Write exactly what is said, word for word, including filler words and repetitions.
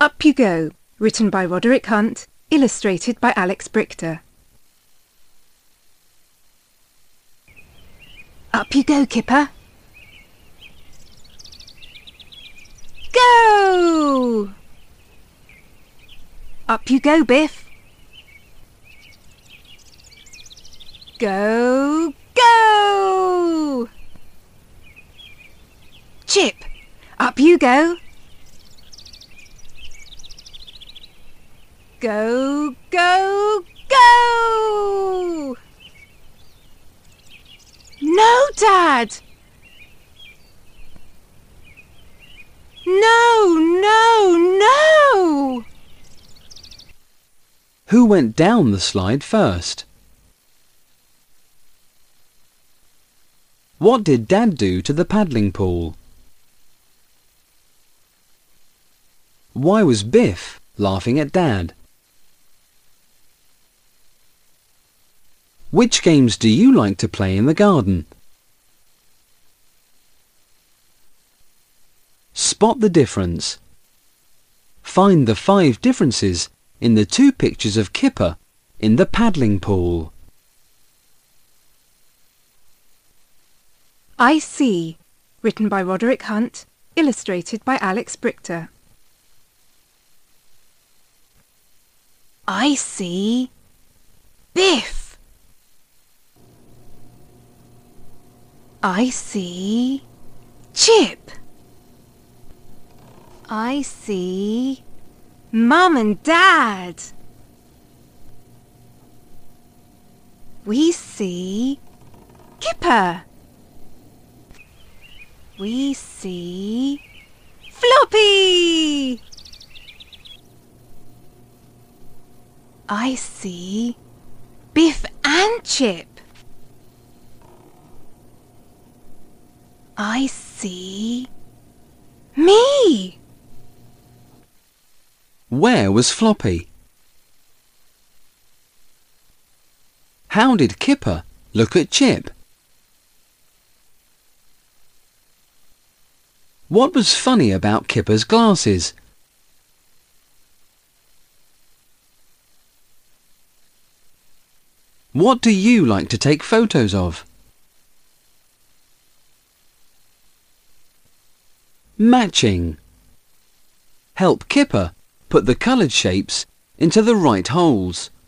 Up You Go, written by Roderick Hunt, illustrated by Alex Brichter. Up you go, Kipper. Go! Up you go, Biff. Go, go! Chip, up you go. Go, go, go! No, Dad! No, no, no! Who went down the slide first? What did Dad do to the paddling pool? Why was Biff laughing at Dad? Which games do you like to play in the garden? Spot the difference. Find the five differences in the two pictures of Kipper in the paddling pool. I See, written by Roderick Hunt, illustrated by Alex Brichter. I see Biff. I see Chip. I see Mum and Dad. We see Kipper. We see Floppy. I see Biff and Chip. I see me. Where was Floppy? How did Kipper look at Chip? What was funny about Kipper's glasses? What do you like to take photos of? Matching. Help Kipper put the coloured shapes into the right holes.